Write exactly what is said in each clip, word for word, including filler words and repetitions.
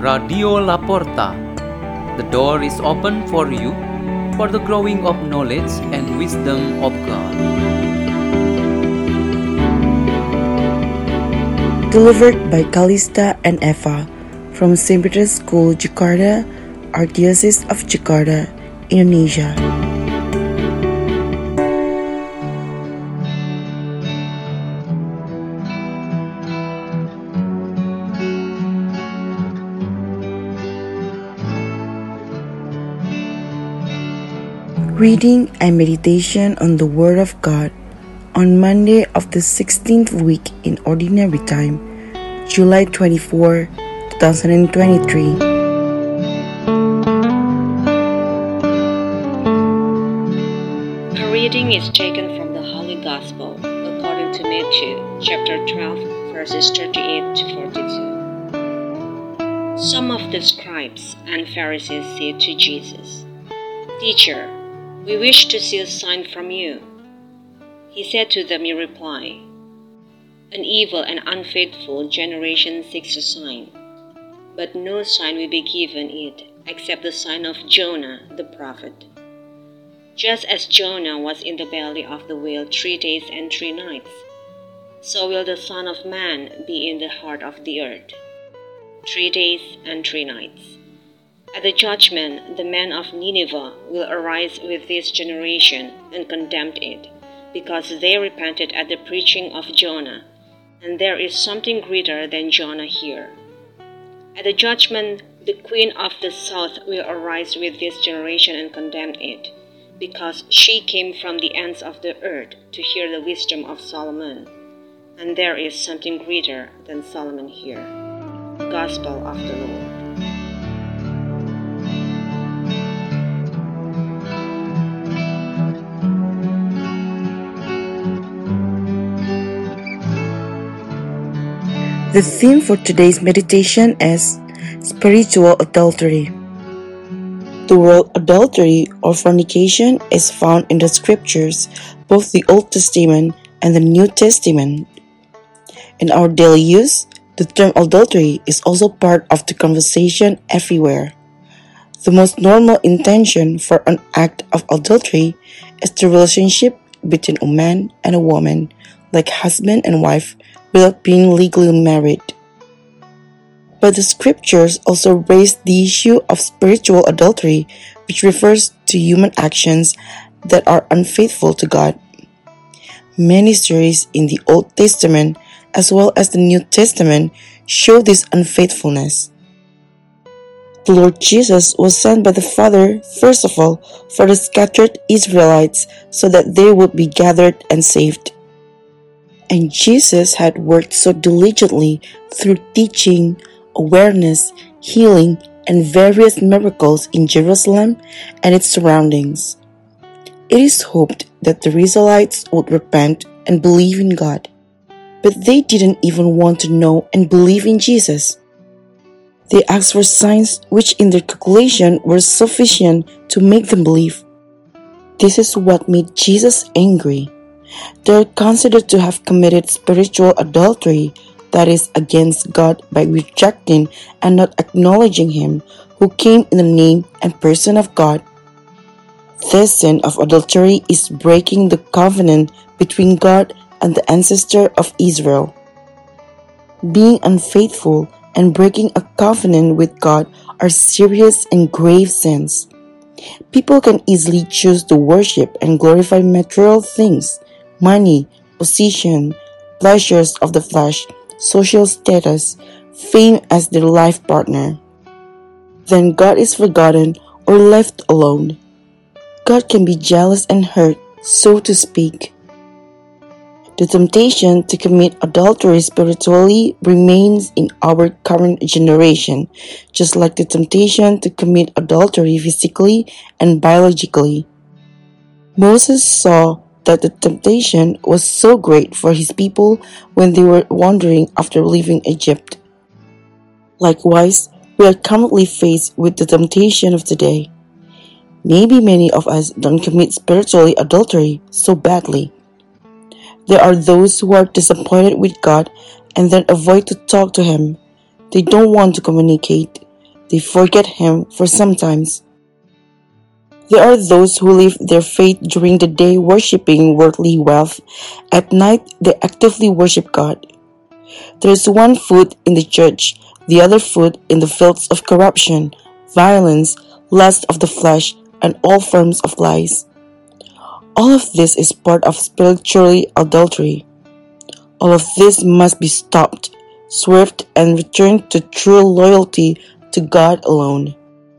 Radio Laporta. The door is open for you for the growing of knowledge and wisdom of God. Delivered by Kalista and Eva from Saint Peter's School, Jakarta, Archdiocese of Jakarta, Indonesia. Reading and meditation on the Word of God on Monday of the sixteenth week in Ordinary Time, July twenty-fourth, twenty twenty-three. A reading is taken from the Holy Gospel according to Matthew, chapter twelve, verses thirty-eight to forty-two. Some of the scribes and Pharisees said to Jesus, "Teacher, we wish to see a sign from you." He said to them in reply, "An evil and unfaithful generation seeks a sign, but no sign will be given it except the sign of Jonah the prophet. Just as Jonah was in the belly of the whale three days and three nights, so will the Son of Man be in the heart of the earth three days and three nights. At the judgment, the men of Nineveh will arise with this generation and condemn it, because they repented at the preaching of Jonah, and there is something greater than Jonah here. At the judgment, the queen of the south will arise with this generation and condemn it, because she came from the ends of the earth to hear the wisdom of Solomon, and there is something greater than Solomon here." Gospel of the Lord. The theme for today's meditation is spiritual adultery. The word adultery or fornication is found in the scriptures, both the Old Testament and the New Testament. In our daily use, the term adultery is also part of the conversation everywhere. The most normal intention for an act of adultery is the relationship between a man and a woman, like husband and wife, without being legally married. But the scriptures also raise the issue of spiritual adultery, which refers to human actions that are unfaithful to God. Many stories in the Old Testament as well as the New Testament show this unfaithfulness. The Lord Jesus was sent by the Father, first of all, for the scattered Israelites so that they would be gathered and saved. And Jesus had worked so diligently through teaching, awareness, healing, and various miracles in Jerusalem and its surroundings. It is hoped that the Israelites would repent and believe in God. But they didn't even want to know and believe in Jesus. They asked for signs which in their calculation were sufficient to make them believe. This is what made Jesus angry. They are considered to have committed spiritual adultery, that is, against God, by rejecting and not acknowledging Him who came in the name and person of God. This sin of adultery is breaking the covenant between God and the ancestor of Israel. Being unfaithful and breaking a covenant with God are serious and grave sins. People can easily choose to worship and glorify material things, money, position, pleasures of the flesh, social status, fame as their life partner. Then God is forgotten or left alone. God can be jealous and hurt, so to speak. The temptation to commit adultery spiritually remains in our current generation, just like the temptation to commit adultery physically and biologically. Moses saw that the temptation was so great for his people when they were wandering after leaving Egypt. Likewise, we are currently faced with the temptation of today. Maybe many of us don't commit spiritually adultery so badly. There are those who are disappointed with God and then avoid to talk to Him. They don't want to communicate. they forget Him for sometimes. There are those who live their faith during the day worshiping worldly wealth. At night, they actively worship God. There is one foot in the church, the other foot in the fields of corruption, violence, lust of the flesh, and all forms of lies. All of this is part of spiritual adultery. All of this must be stopped, swerved, and returned to true loyalty to God alone.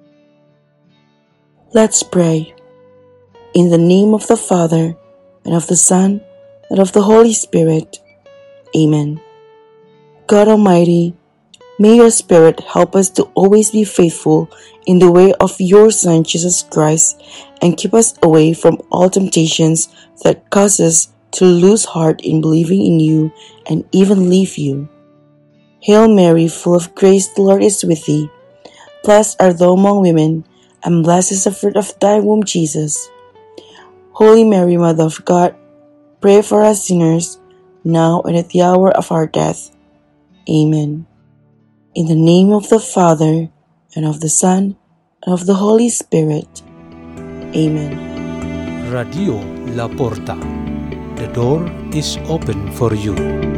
Let's pray. In the name of the Father, and of the Son, and of the Holy Spirit. Amen. God Almighty, may your Spirit help us to always be faithful in the way of your Son Jesus Christ, and keep us away from all temptations that cause us to lose heart in believing in you and even leave you. Hail Mary, full of grace, the Lord is with thee. Blessed art thou among women, and blessed is the fruit of thy womb, Jesus. Holy Mary, Mother of God, pray for us sinners, now and at the hour of our death. Amen. In the name of the Father, and of the Son, and of the Holy Spirit. Amen. Radio La Porta. The door is open for you.